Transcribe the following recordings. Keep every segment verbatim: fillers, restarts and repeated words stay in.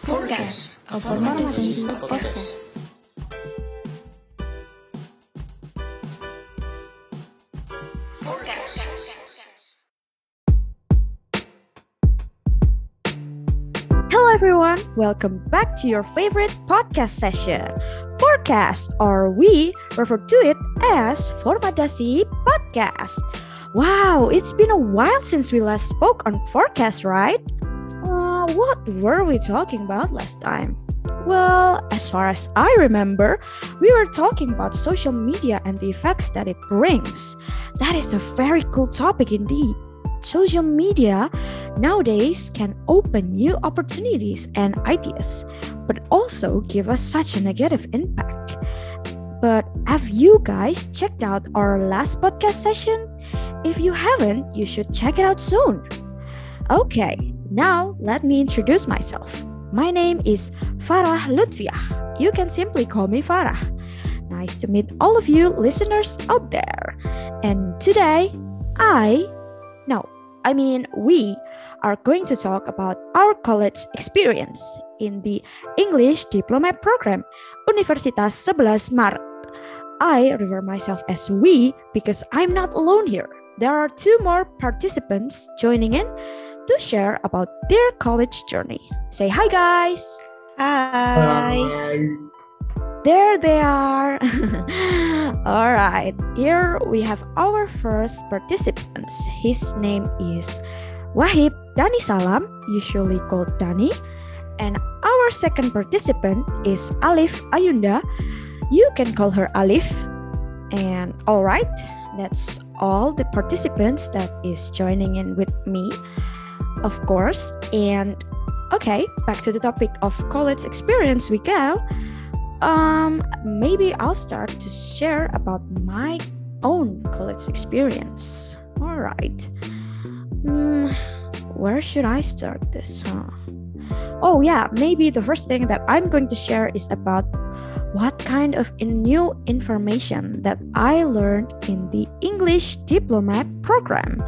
Forecast, a formation podcast. Hello everyone, welcome back to your favorite podcast session, Forecast, or we refer to it as Formadasi Podcast. Wow, it's been a while since we last spoke on Forecast, right? Uh, what were we talking about last time? Well, as far as I remember, we were talking about social media and the effects that it brings. That is a very cool topic indeed. Social media nowadays can open new opportunities and ideas, but also give us such a negative impact. But have you guys checked out our last podcast session? If you haven't, you should check it out soon. Okay, now let me introduce myself. My name is Farah Lutfiah. You can simply call me Farah. Nice to meet all of you listeners out there. And today, I No, I mean we are going to talk about our college experience in the English Diploma Program, Universitas sebelas Maret. I refer myself as we because I'm not alone here. There are two more participants joining in to share about their college journey. Say hi guys! Hi. There they are. All right, here we have our first participants. His name is Wahib Dani Salam, usually called Dani. And our second participant is Alif Ayunda. You can call her Alif. And all right, that's all the participants that is joining in with me, of course. And okay, back to the topic of college experience we go. Um, maybe I'll start to share about my own college experience. All right. Hmm, where should I start this? Huh? Oh yeah, maybe the first thing that I'm going to share is about what kind of new information that I learned in the English Diploma Program.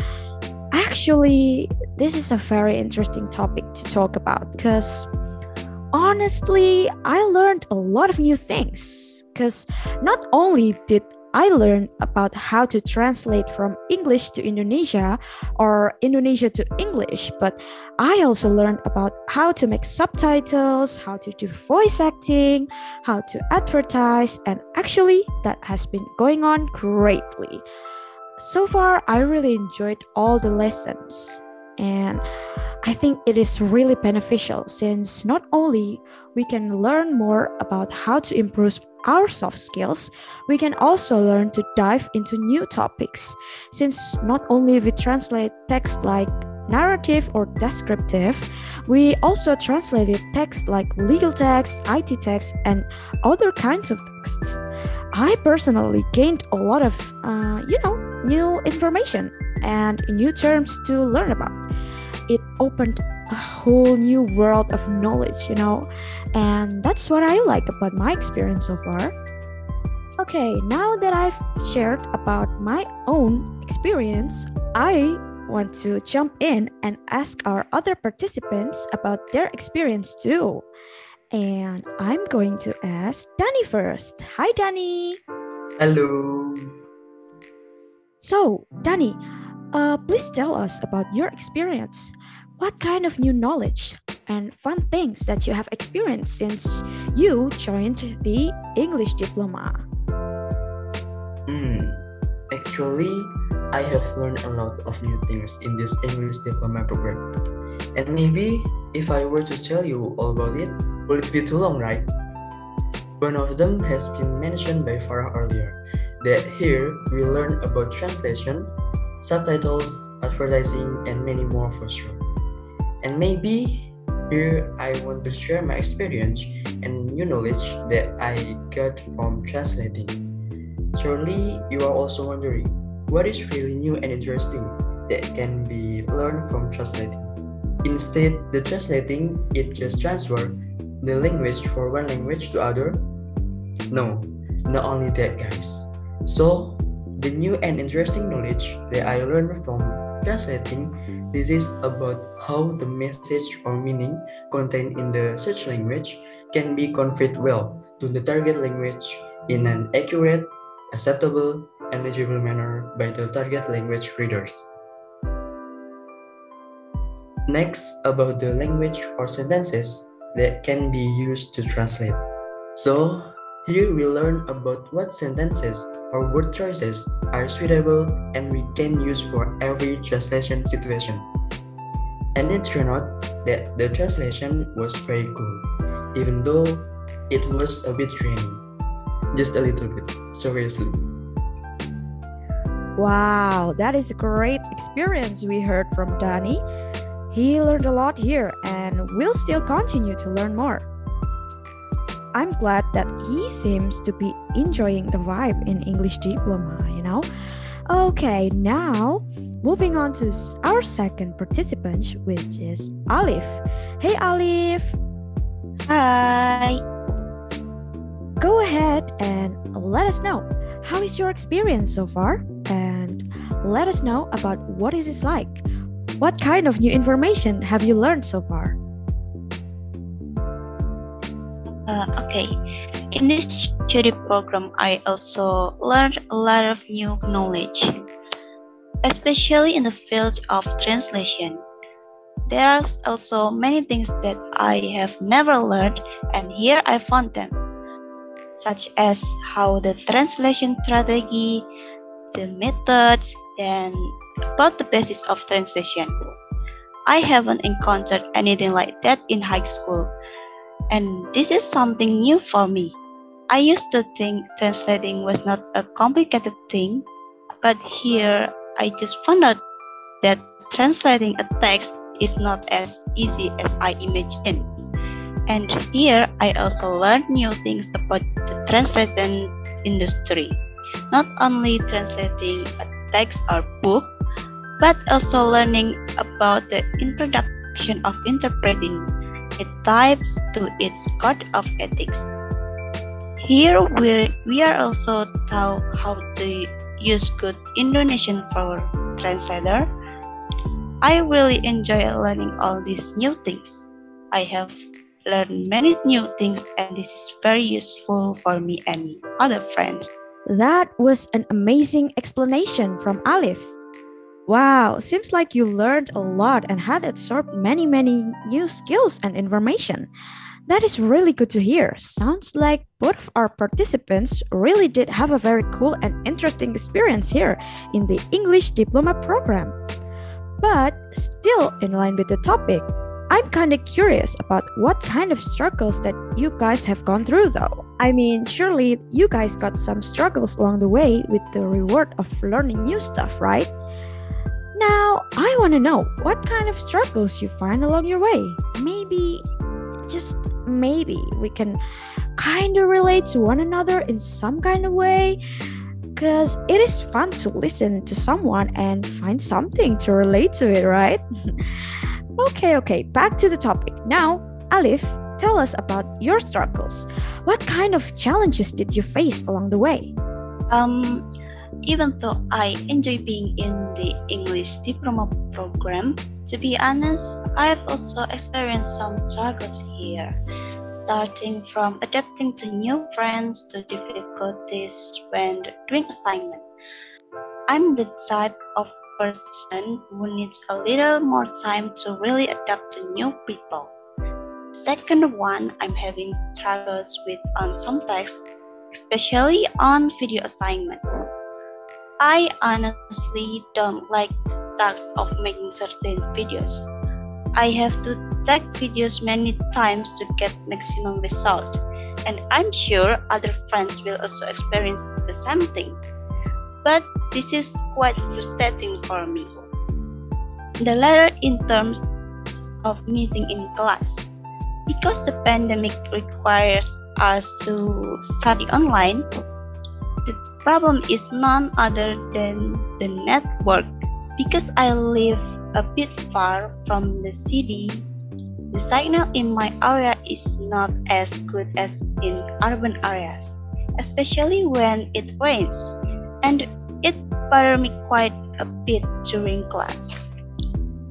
Actually, this is a very interesting topic to talk about because honestly, I learned a lot of new things because not only did I learn about how to translate from English to Indonesia or Indonesia to English, but I also learned about how to make subtitles, how to do voice acting, how to advertise, and actually that has been going on greatly. So far, I really enjoyed all the lessons. And I think it is really beneficial since not only we can learn more about how to improve our soft skills, we can also learn to dive into new topics. Since not only we translate text like narrative or descriptive, we also translated text like legal text, I T text, and other kinds of texts. I personally gained a lot of, uh, you know, new information and new terms to learn about. It opened a whole new world of knowledge, you know, and that's what I like about my experience so far. Okay, now that I've shared about my own experience, I want to jump in and ask our other participants about their experience too. And I'm going to ask Dani first. Hi, Dani. Hello. So, Dani, uh, please tell us about your experience. What kind of new knowledge and fun things that you have experienced since you joined the English Diploma? Hmm. Actually, I have learned a lot of new things in this English Diploma program. And maybe if I were to tell you all about it, will it be too long, right? One of them has been mentioned by Farah earlier, that here we learn about translation, subtitles, advertising, and many more for sure. And maybe here I want to share my experience and new knowledge that I got from translating. Surely you are also wondering, what is really new and interesting that can be learned from translating? Instead, the translating, it just transfer the language from one language to other? No, not only that guys. So, the new and interesting knowledge that I learned from translating This is about how the message or meaning contained in the search language can be conveyed well to the target language in an accurate, acceptable, and legible manner by the target language readers. Next, about the language or sentences that can be used to translate. So, here we learn about what sentences or word choices are suitable and we can use for every translation situation. And it turned out that the translation was very cool, even though it was a bit draining. Just a little bit, seriously. Wow, that is a great experience we heard from Danny. He learned a lot here and will still continue to learn more. I'm glad that he seems to be enjoying the vibe in English Diploma, you know? Okay, now moving on to our second participant, which is Alif. Hey Alif! Hi. Go ahead and let us know, how is your experience so far? And let us know about what it is like. What kind of new information have you learned so far? Uh, okay. In this study program, I also learned a lot of new knowledge, especially in the field of translation. There are also many things that I have never learned, and here I found them, such as how the translation strategy, the methods, and about the basis of translation. I haven't encountered anything like that in high school, and this is something new for me. I used to think translating was not a complicated thing, but here I just found out that translating a text is not as easy as I imagined. And here I also learned new things about the translation industry. Not only translating a text or book, but also learning about the introduction of interpreting it types to its code of ethics. Here we, we are also taught how to use good Indonesian for translator. I really enjoy learning all these new things. I have learned many new things and this is very useful for me and other friends. That was an amazing explanation from Alif. Wow, seems like you learned a lot and had absorbed many, many new skills and information. That is really good to hear. Sounds like both of our participants really did have a very cool and interesting experience here in the English Diploma program. But still in line with the topic, I'm kind of curious about what kind of struggles that you guys have gone through though. I mean, surely you guys got some struggles along the way with the reward of learning new stuff, right? Now, I want to know what kind of struggles you find along your way. Maybe, just maybe, we can kind of relate to one another in some kind of way. Because it is fun to listen to someone and find something to relate to it, right? Okay, okay, back to the topic. Now, Alif, tell us about your struggles. What kind of challenges did you face along the way? Um, even though I enjoy being in the English Diploma program, to be honest, I've also experienced some struggles here, starting from adapting to new friends to difficulties when doing assignment. I'm the type of person who needs a little more time to really adapt to new people. Second one, I'm having struggles with on some texts, especially on video assignment. I honestly don't like the task of making certain videos. I have to take videos many times to get maximum result, and I'm sure other friends will also experience the same thing. But this is quite frustrating for me. The latter in terms of meeting in class. Because the pandemic requires us to study online, the problem is none other than the network. Because I live a bit far from the city, the signal in my area is not as good as in urban areas, especially when it rains, and it bothers me quite a bit during class.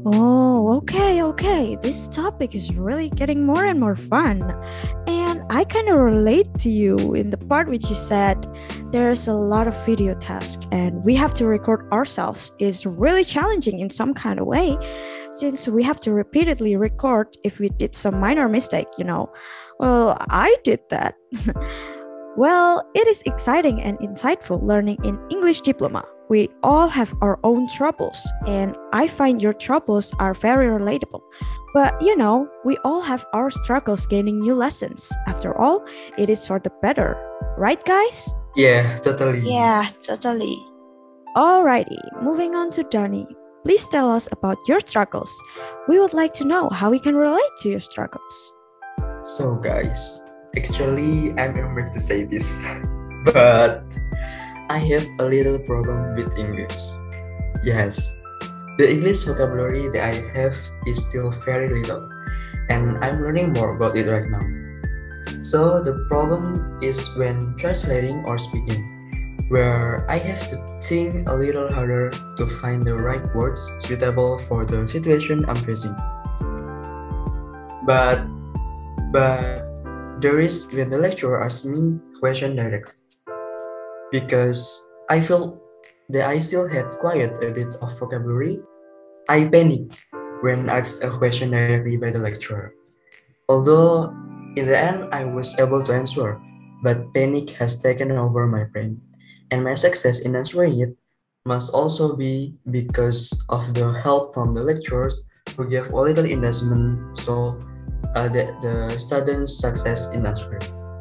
Oh, okay, okay. This topic is really getting more and more fun. And I kind of relate to you in the part which you said there's a lot of video tasks and we have to record ourselves is really challenging in some kind of way since we have to repeatedly record if we did some minor mistake, you know. Well, I did that. Well, it is exciting and insightful learning in English diploma. We all have our own troubles, and I find your troubles are very relatable. But you know, we all have our struggles gaining new lessons. After all, it is for the better. Right, guys? Yeah, totally. Yeah, totally. Alrighty, moving on to Danny. Please tell us about your struggles. We would like to know how we can relate to your struggles. So guys, actually I'm embarrassed to say this, but I have a little problem with English. Yes, the English vocabulary that I have is still very little, and I'm learning more about it right now. So the problem is when translating or speaking, where I have to think a little harder to find the right words suitable for the situation I'm facing. But, but there is when the lecturer asks me question directly. Because I felt that I still had quite a bit of vocabulary, I panicked when asked a question directly by the lecturer. Although in the end I was able to answer, but panic has taken over my brain, and my success in answering it must also be because of the help from the lecturers who gave a little investment so uh, that the students' success in answering.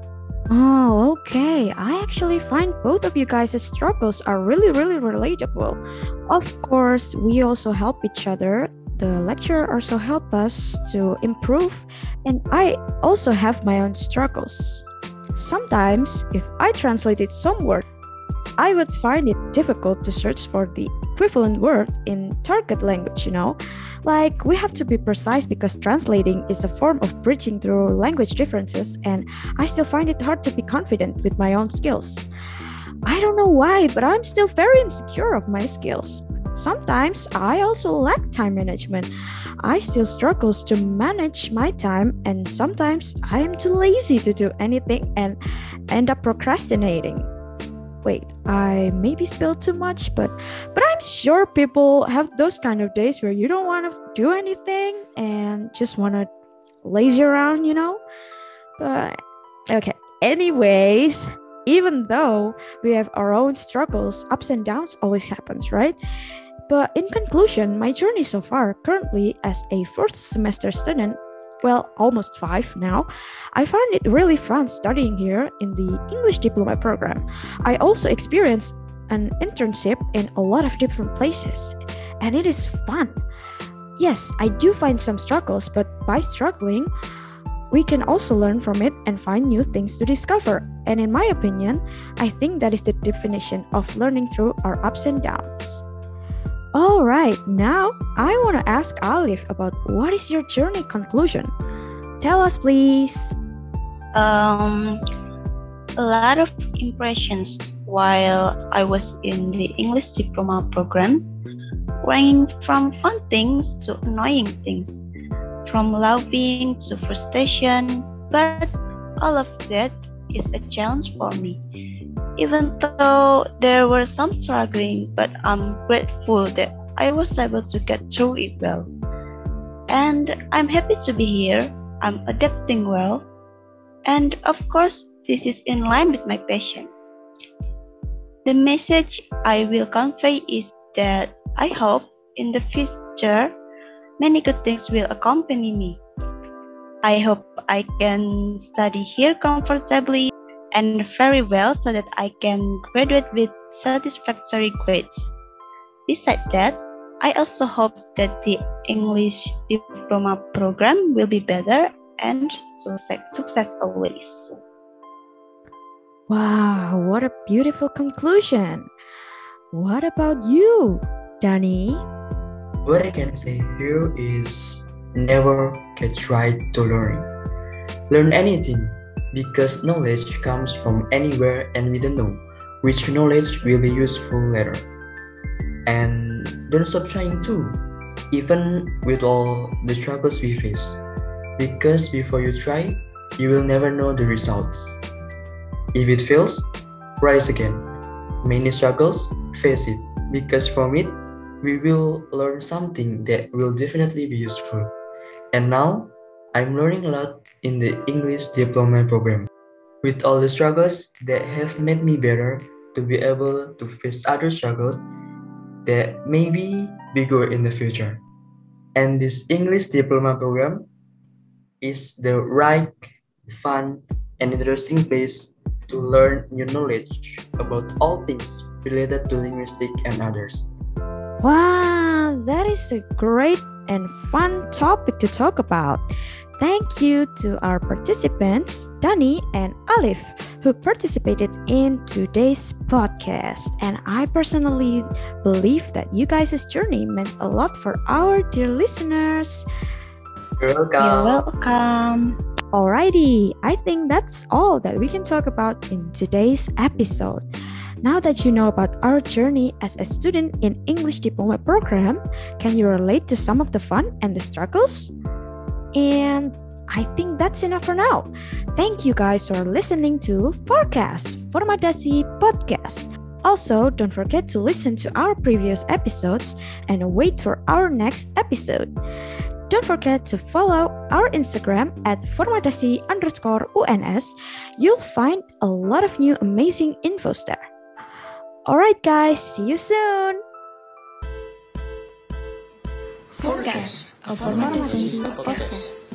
Oh, okay. I actually find both of you guys' struggles are really, really relatable. Of course, we also help each other. The lecturer also help us to improve, and I also have my own struggles. Sometimes, if I translated some word, I would find it difficult to search for the equivalent word in target language, you know? Like, we have to be precise because translating is a form of bridging through language differences, and I still find it hard to be confident with my own skills. I don't know why, but I'm still very insecure of my skills. Sometimes I also lack time management. I still struggle to manage my time, and sometimes I am too lazy to do anything and end up procrastinating. Wait, I maybe spilled too much, but but I'm sure people have those kind of days where you don't want to do anything and just want to lazy around, you know? But okay, anyways, even though we have our own struggles, ups and downs always happens, right? But in conclusion, my journey so far, currently as a fourth semester student, well, almost five now, I find it really fun studying here in the English diploma program. I also experienced an internship in a lot of different places, and it is fun. Yes, I do find some struggles, but by struggling, we can also learn from it and find new things to discover. And in my opinion, I think that is the definition of learning through our ups and downs. All right, now I want to ask Alif about what is your journey conclusion? Tell us, please. Um, a lot of impressions while I was in the English diploma program, ranging from fun things to annoying things, from loving to frustration, but all of that is a challenge for me. Even though there were some struggling, but I'm grateful that I was able to get through it well. And I'm happy to be here. I'm adapting well. And of course, this is in line with my passion. The message I will convey is that I hope in the future, many good things will accompany me. I hope I can study here comfortably and very well so that I can graduate with satisfactory grades. Besides that, I also hope that the English diploma program will be better and success, success always. Wow, what a beautiful conclusion. What about you, Danny? What I can say here is never get tried to learn. Learn anything, because knowledge comes from anywhere and we don't know which knowledge will be useful later. And don't stop trying too, even with all the struggles we face. Because before you try, you will never know the results. If it fails, rise again. Many struggles, face it. Because from it, we will learn something that will definitely be useful. And now, I'm learning a lot in the English Diploma program. With all the struggles that have made me better to be able to face other struggles that may be bigger in the future. And this English Diploma program is the right, fun, and interesting place to learn new knowledge about all things related to linguistics and others. Wow, that is a great and fun topic to talk about. Thank you to our participants, Dani and Alif, who participated in today's podcast. And I personally believe that you guys' journey meant a lot for our dear listeners. You're welcome. You're welcome. Alrighty, I think that's all that we can talk about in today's episode. Now that you know about our journey as a student in English Diploma program, can you relate to some of the fun and the struggles? And I think that's enough for now. Thank you guys for listening to Forecast Formadasi Podcast. Also, don't forget to listen to our previous episodes and wait for our next episode. Don't forget to follow our Instagram at formadasi underscore UNS. You'll find a lot of new amazing infos there. Alright guys, see you soon! Forecast, a Formasi podcast.